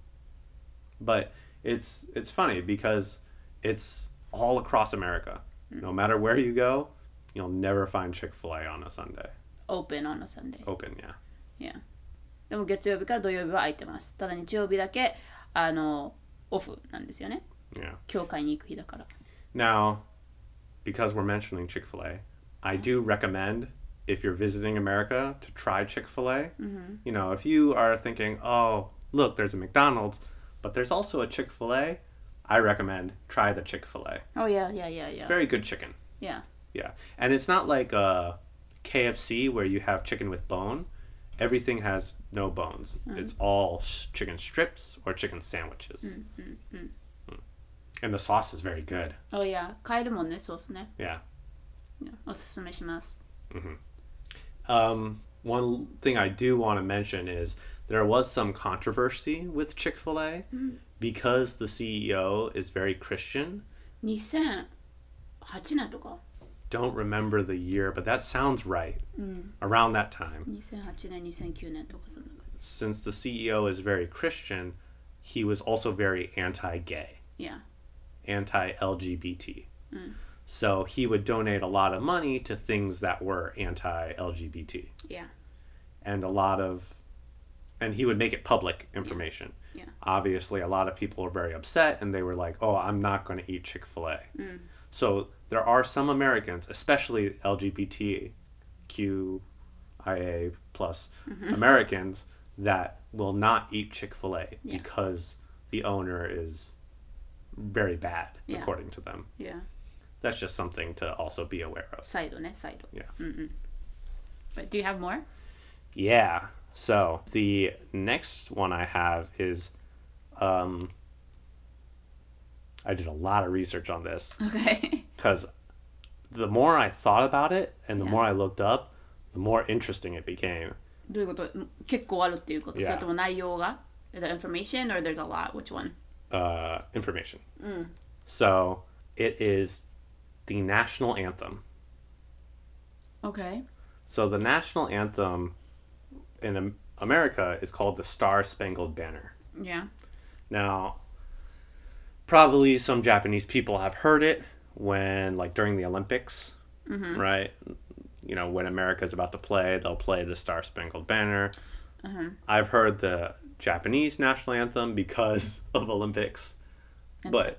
But it's funny because it's all across America. No matter where you go, you'll never find Chick-fil-A on a Sunday. Open on a Sunday. Open, yeah. Yeah. でも月曜日から土曜日は空いてます。ただ日曜日だけオフなんですよね。 Yeah. 教会に行く日だから。 Now, because we're mentioning Chick-fil-A, I do recommend if you're visiting America to try Chick-fil-A. You know, if you are thinking, oh, look, there's a McDonald's, but there's also a Chick-fil-A, I recommend try the Chick-fil-A. Oh yeah. It's very good chicken. Yeah. Yeah. And it's not like a KFC where you have chicken with bone. Everything has no bones. It's all chicken strips or chicken sandwiches. And the sauce is very good. Oh yeah. 買えるもんね、ソースね。 Yeah. おすすめします。 One thing I do want to mention is there was some controversy with Chick-fil-A because the CEO is very Christian. 2008年とか Don't remember the year, but that sounds right. Around that time. 2008年、2009年とかそんな感じ。 Since the CEO is very Christian, he was also very anti-gay, Yeah. anti-LGBT. So he would donate a lot of money to things that were anti-LGBT. Yeah. And and he would make it public information. Yeah. Obviously, a lot of people were very upset and they were like, oh, I'm not going to eat Chick-fil-A. So there are some Americans, especially LGBTQIA plus Americans, that will not eat Chick-fil-A because the owner is very bad, according to them. Yeah. That's just something to also be aware of. サイドね、サイド。 Yeah. But do you have more? Yeah. So the next one I have is, I did a lot of research on this Okay. because the more I thought about it and the Yeah. more I looked up, the more interesting it became. どういうこと？結構あるっていうこと？ Yeah. それとも内容が The information or there's a lot? Which one? Information. So it is the national anthem. Okay. So the national anthem in America is called the Star-Spangled Banner. Yeah. Now, probably some Japanese people have heard it when, like, during the Olympics, right? You know, when America's about to play, they'll play the Star-Spangled Banner. I've heard the Japanese national anthem because of Olympics. But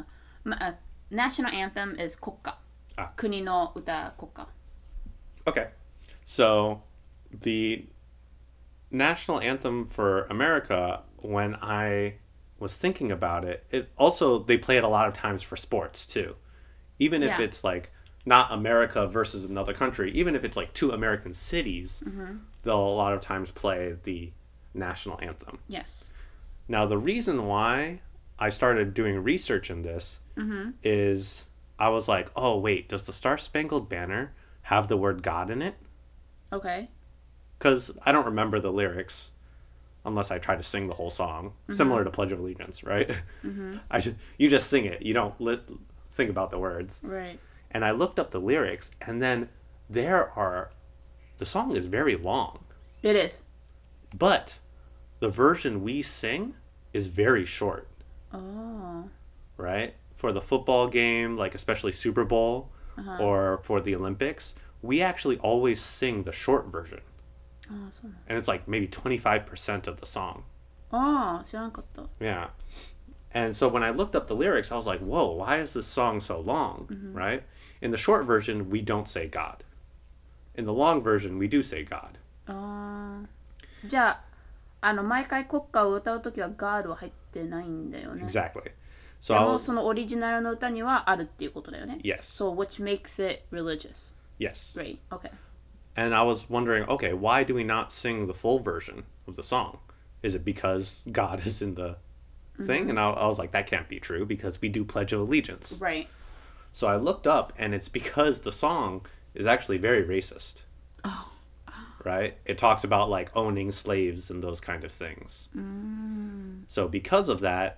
national anthem is 国歌。国の歌、国歌。 okay, so the national anthem for America, when I was thinking about it, it also, they play it a lot of times for sports too. Even if it's like not America versus another country, even if it's like two American cities, they'll a lot of times play the national anthem. Yes. Now, the reason why I started doing research in this is I was like, oh, wait, does the Star-Spangled Banner have the word God in it? Okay. Because I don't remember the lyrics unless I try to sing the whole song, similar to Pledge of Allegiance, right? You just sing it. You don't think about the words. Right. And I looked up the lyrics, and then the song is very long. It is. But the version we sing is very short. Oh. Right? For the football game, like especially Super Bowl, or for the Olympics, we actually always sing the short version. ああ、そうなの。 And it's like maybe 25% of the song. ああ、知らなかった。 Yeah. And so when I looked up the lyrics, I was like, whoa, why is this song so long? Right? In the short version, we don't say God. In the long version, we do say God. ああ。じゃあ、毎回国歌を歌うときは God は入ってないんだよね。 Exactly. で So I も was, そのオリジナルの歌にはあるっていうことだよね。 yes. So which makes it religious. Yes. Right. Okay. And I was wondering, okay, why do we not sing the full version of the song? Is it because God is in the thing? And I was like, that can't be true because we do Pledge of Allegiance. Right. So I looked up, and it's because the song is actually very racist. Oh. Right? It talks about like owning slaves and those kind of things. So because of that,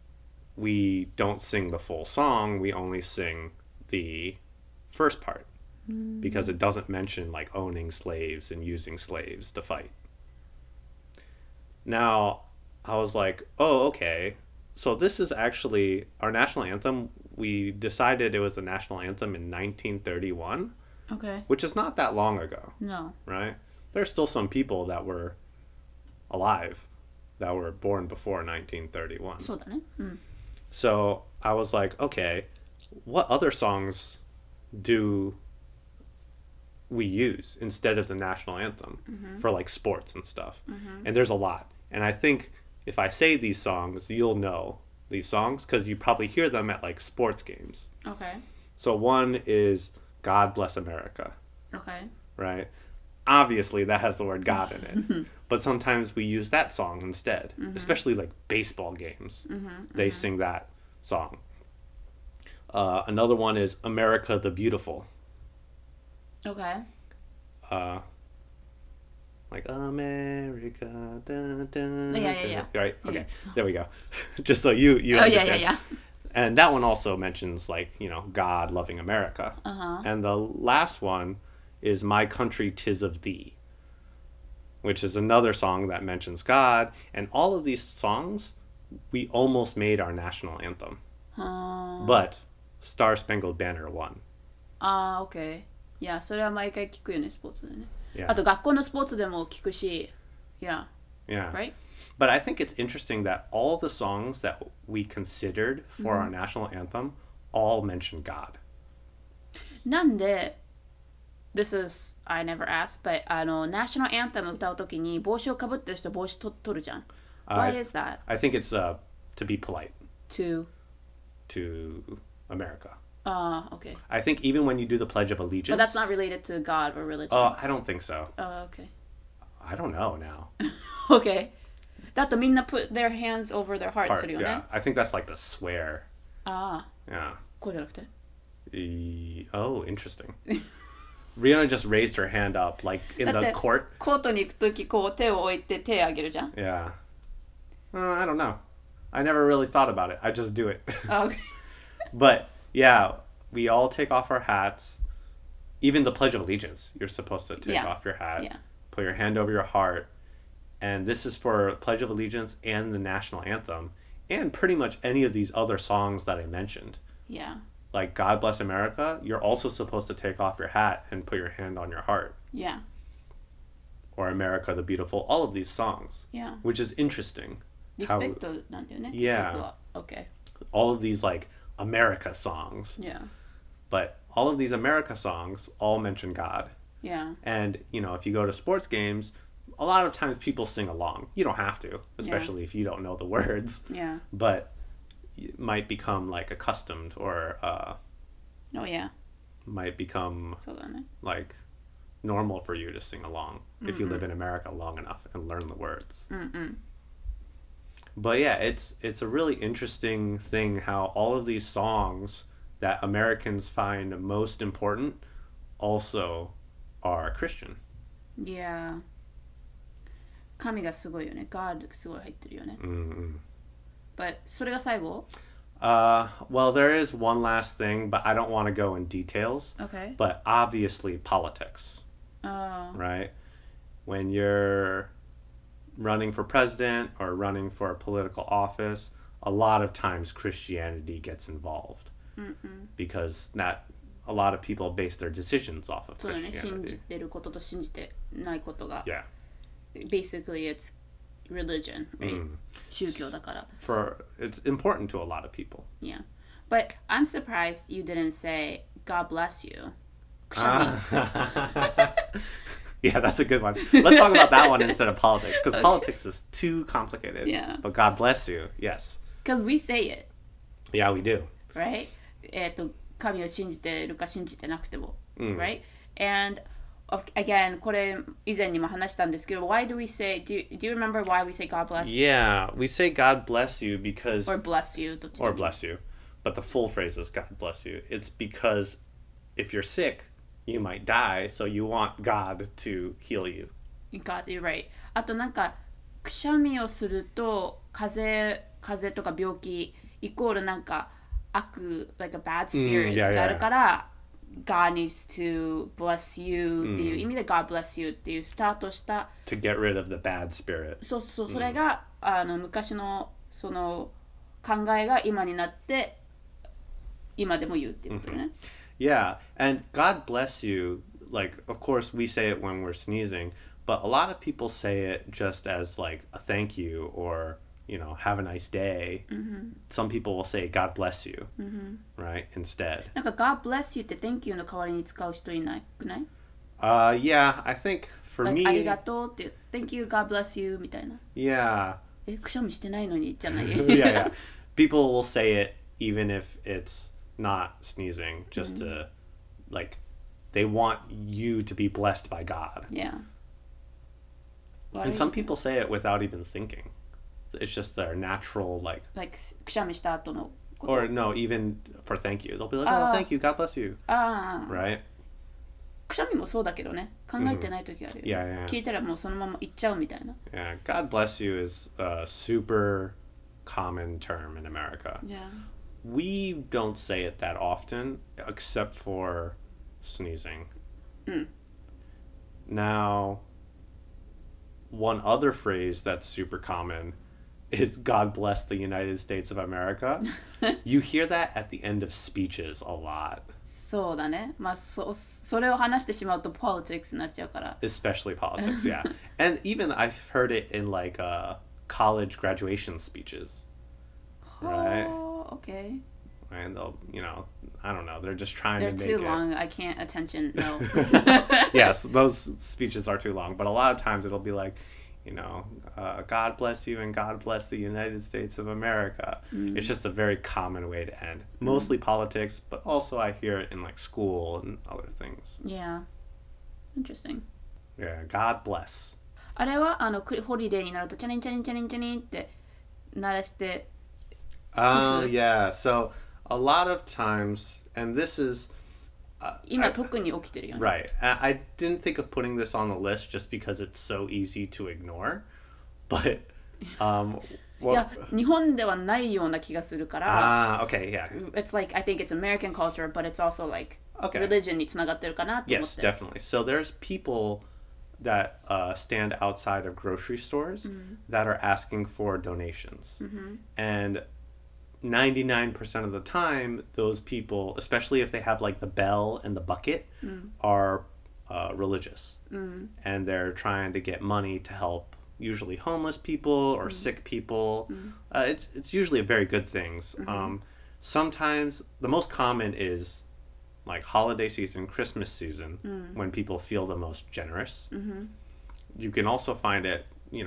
we don't sing the full song. We only sing the first part because it doesn't mention like owning slaves and using slaves to fight. Now, I was like, oh, okay. So this is actually our national anthem. We decided it was the national anthem in 1931, Okay. which is not that long ago, No. right? There's still some people that were alive that were born before 1931. そうだね。うん。 So I was like, okay, what other songs do we use instead of the national anthem for like sports and stuff? And there's a lot. And I think if I say these songs, you'll know these songs because you probably hear them at like sports games. Okay. So one is God Bless America, Okay. right? Obviously that has the word God in it. But sometimes we use that song instead, especially like baseball games. They sing that song. Another one is America the Beautiful. Okay. Like America, dun, dun, Yeah. right? Okay, Yeah. there we go. Just so you Oh, understand. yeah. And that one also mentions like God loving America. And the last one is My Country 'Tis of Thee, which is another song that mentions God. And all of these songs, we almost made our national anthem, but Star Spangled Banner won. OK。いや、それは毎回聞くよね、スポーツでね。 Yeah. あと学校のスポーツでも聞くし、Yeah. Yeah. Right? But I think it's interesting that all the songs that we considered for our national anthem all mention God. なんで、This is, I never asked, but ナショナルアンセム歌うときに帽子をかぶってる人帽子取るじゃん。Why is that? I think it's to be polite To America. OK. I think even when you do the Pledge of Allegiance. But that's not related to God or religion. I don't think so. OK. I don't know now. OK. だとみんな put their hands over their heart するよね。 Yeah. I think that's like the swear. ああ。 Yeah. こうじゃなくて。 Oh, interesting. Rihanna just raised her hand up like in だっ the て court. コートに行くときこう手を置いて手あげるじゃん。 Yeah. I don't know. I never really thought about it. I just do it. OK. But yeah, we all take off our hats. Even the Pledge of Allegiance, you're supposed to take off your hat, put your hand over your heart. And this is for Pledge of Allegiance and the national anthem, and pretty much any of these other songs that I mentioned. Yeah. Like God Bless America, you're also supposed to take off your hat and put your hand on your heart. Yeah. Or America the Beautiful, all of these songs. Yeah. Which is interesting. リスペクトなんだよね。 Yeah. 結局は。OK. All of these like America songs. Yeah. But all of these America songs all mention God. Yeah. And, if you go to sports games, a lot of times people sing along. You don't have to, especially if you don't know the words. Yeah. But it might become like accustomed or Oh yeah. might become そうだね。 like normal for you to sing along if you live in America long enough and learn the words. But yeah, it's a really interesting thing how all of these songs that Americans find most important also are Christian. Yeah. 神がすごいよね。God すごい入ってるよね。But それが最後 Well, there is one last thing, but I don't want to go in details. Okay. But obviously politics, right? When you're running for president or running for a political office, a lot of times Christianity gets involved because a lot of people base their decisions off of そうだね。信じ Christianity. てることと信じてないことが。 Yeah. Basically, it's religion, right? 宗教だから。 It's important to a lot of people. Yeah. But I'm surprised you didn't say God bless you. くしゃみ Yeah, that's a good one. Let's talk about that one instead of politics, because politics is too complicated. Yeah. But God bless you, yes. Because we say it, Yeah, we do. right? 神を信じてるか信じてなくても、right? And again, これ以前にも話したんですけど、why do we say, do you remember why we say God bless? Yeah, we say God bless you because... Or bless you. どっちでも Or bless you. But the full phrase is God bless you. It's because if you're sick, you might die, so you want God to heal you. God, you're right. あとなんかくしゃみをすると風邪とか病気イコールなんか悪 like a bad spirit があるから、God needs to bless you っていう意味で God bless you っていうスタートした To get rid of the bad spirit. そうそれが昔のその考えが今になって今でも言うっていうことね。 Yeah, and God bless you, like, of course we say it when we're sneezing, but a lot of people say it just as like a thank you or have a nice day. Some people will say God bless you, right? Instead. なんか God bless you って Thank you の代わりに使う人いないくない？ Yeah, I think for Like, me, ありがとうって Thank you, God bless you みたいな。 yeah. くしゃみしてないのにじゃない。 Yeah. People will say it even if it's not sneezing, just to, like, they want you to be blessed by God. Yeah. And some people say it without even thinking. It's just their natural, like, Like くしゃみした後のこと。 or no, even for thank you. They'll be like, oh, thank you, God bless you. ああ。 Right? くしゃみもそうだけどね。考えてない時あるよ。 Yeah, yeah. 聞いたらもうそのまま言っちゃうみたいな。 Yeah. God bless you is a super common term in America. Yeah. We don't say it that often, except for sneezing. Now, one other phrase that's super common is God bless the United States of America. You hear that at the end of speeches a lot. そうだね。まあそれを話してしまうと politics になっちゃうから。 Especially politics, yeah. And even I've heard it in like college graduation speeches. Right? Oh, okay. And they'll, I don't know, they're just trying They're to make too it. long. I can't attention. No. Yes, those speeches are too long. But a lot of times it'll be like, God bless you and God bless the United States of America. It's just a very common way to end. Mostly politics, but also I hear it in like school and other things. Yeah. Interesting. Yeah, God bless. あれはホリデーになるとチャリンチャリンチャリンチャリンって鳴らして。 Oh, yeah. So a lot of times, and this is... 今特に起きてるよね。 Right. I didn't think of putting this on the list just because it's so easy to ignore. But, いや、日本ではないような気がするから。 okay, yeah. It's like, I think it's American culture, but it's also like religion につながってるかなって思って。 Yes, definitely. So there's people that stand outside of grocery stores that are asking for donations. And 99% of the time, those people, especially if they have like the bell and the bucket, are religious. And they're trying to get money to help usually homeless people or sick people. It's usually very good things. Sometimes the most common is like holiday season, Christmas season, when people feel the most generous. You can also find it,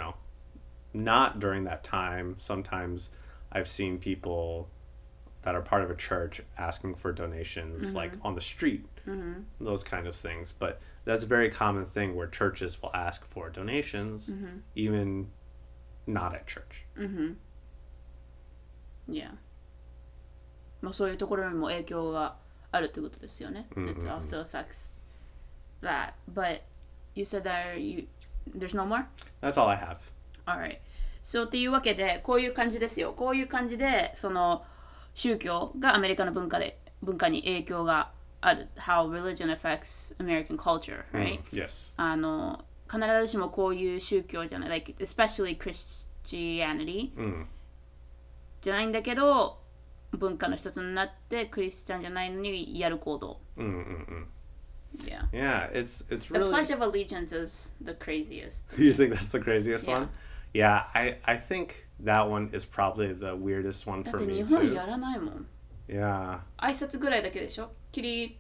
not during that time. Sometimes I've seen people that are part of a church asking for donations like on the street, those kind of things. But that's a very common thing where churches will ask for donations, even not at church. Yeah. まあそういうところにも影響があるってことですよね。It also affects that. But you said that there's no more? That's all I have. Alright. So っていうわけでこういう感じですよ。こういう感じでその宗教がアメリカの文化に影響がある。How religion affects American culture, right? Yes. 必ずしもこういう宗教じゃない。Like, especially Christianity、じゃないんだけど文化の一つになってクリスチャンじゃないのにやる行動。Yeah. Yeah, it's The really... Pledge of Allegiance is the craziest. You think that's the craziest Yeah. one? Yeah, I think that one is probably the weirdest one だっ for て me 日本 too. やらないもん。 Yeah. 挨拶ぐらいだけでしょ。起立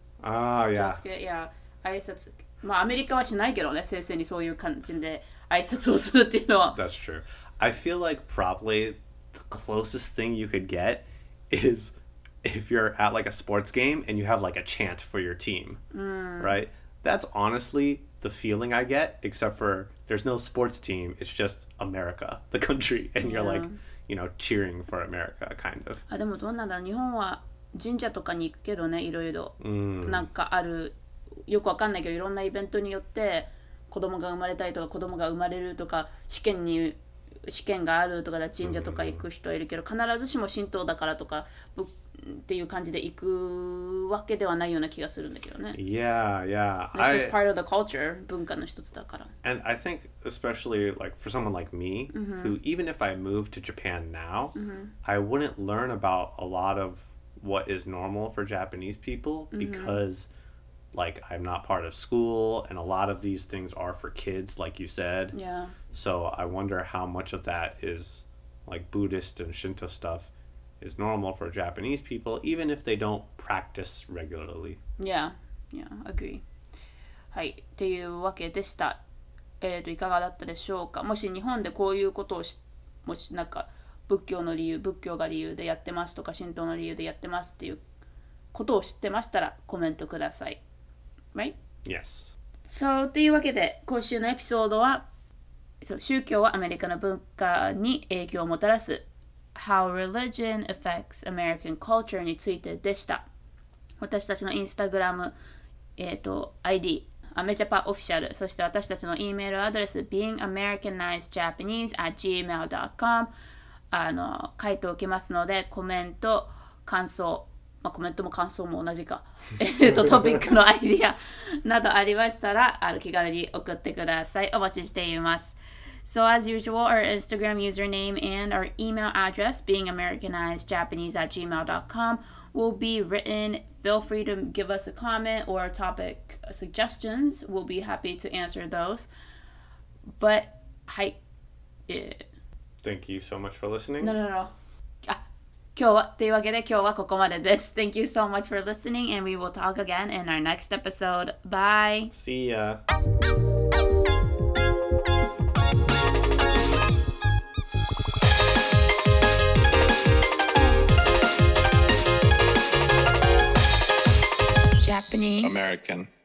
Oh, 気を yeah. つけ、いや挨拶。まあアメリカはしないけどね、先生にそういう感じで挨拶をするっていうのは。 That's true. I feel like probably the closest thing you could get is if you're at like a sports game and you have like a chant for your team, right? That's honestly the feeling I get, except for there's no sports team. It's just America, the country. And you're like, cheering for America, kind of. あ、でもどうなんだろう。日本は神社とかに行くけどね、いろいろ。なんかある、よくわかんないけど、いろんなイベントによって子供が生まれたりとか子供が生まれるとか試験があるとかだ神社とか行く人はいるけど、必ずしも神道だからとかっていう感じで行くわけではないような気がするんだけどね。 Yeah, yeah. It's just part of the culture, 文化の一つだから。 And I think especially like for someone like me, who even if I moved to Japan now, I wouldn't learn about a lot of what is normal for Japanese people because like I'm not part of school and a lot of these things are for kids, like you said. Yeah. So I wonder how much of that is like Buddhist and Shinto stuff, is normal for Japanese people, even if they don't practice regularly. Yeah, agree. はい、っていうわけでした。いかがだったでしょうか。もし日本でこういうことをもしなんか仏教が理由でやってますとか、神道の理由でやってますっていうことを知ってましたらコメントください。Right? Yes. そう、というわけで今週のエピソードは、宗教はアメリカの文化に影響をもたらす How Religion Affects American Culture についてでした。私たちのインスタグラム、IDアメジャパオフィシャル、そして私たちの E メールアドレス beingamericanizedjapanese@gmail.com 書いておきますので、コメント、感想、コメントも感想も同じかトピックのアイディアなどありましたら気軽に送ってください。お待ちしています。So as usual, our Instagram username and our email address, beingamericanizedjapanese@gmail.com, will be written. Feel free to give us a comment or topic suggestions. We'll be happy to answer those. But, はい。 Thank you so much for listening. No. 今日はというわけで今日はここまでです。Thank you so much for listening, and we will talk again in our next episode. Bye. See ya. Japanese American